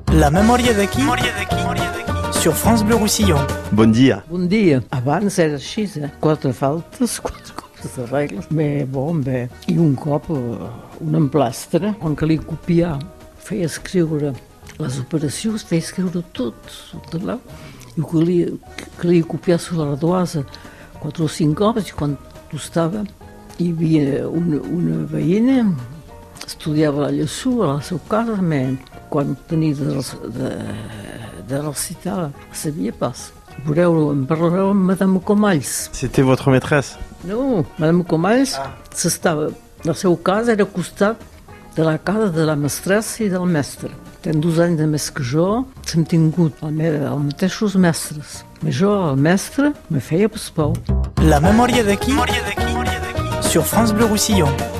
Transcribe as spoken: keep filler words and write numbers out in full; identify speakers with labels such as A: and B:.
A: La memòria d'aquí, sur France Bleu Roussillon.
B: Bon dia.
C: Bon dia. Abans era així, eh? Quatre faltes, quatre copes de regles. Bé, bon, bé. I un cop un emplastre, on calia copiar, feia escriure les operacions, feia escriure tot, tot allà. I calia, calia copiar sobre l'ardoasa quatre o cinc cops, i quan tostava hi havia una, una veïna, estudiava a Llessú, a la seva casa, mais quan tenia de, de, de recitar, sabia pas. Veureu, em parlareu amb Madame Comalls.
B: C'était votre maîtresse?
C: No, Madame Comalls ah. s'estava, la seva casa era al costat de la casa de la mestressa i del mestre. Ten dos anys de més que jo, hem tingut els mateixos mestres. Però jo, el mestre, me feia pas por.
A: La memòria d'aquí, sur France Bleu Roussillon.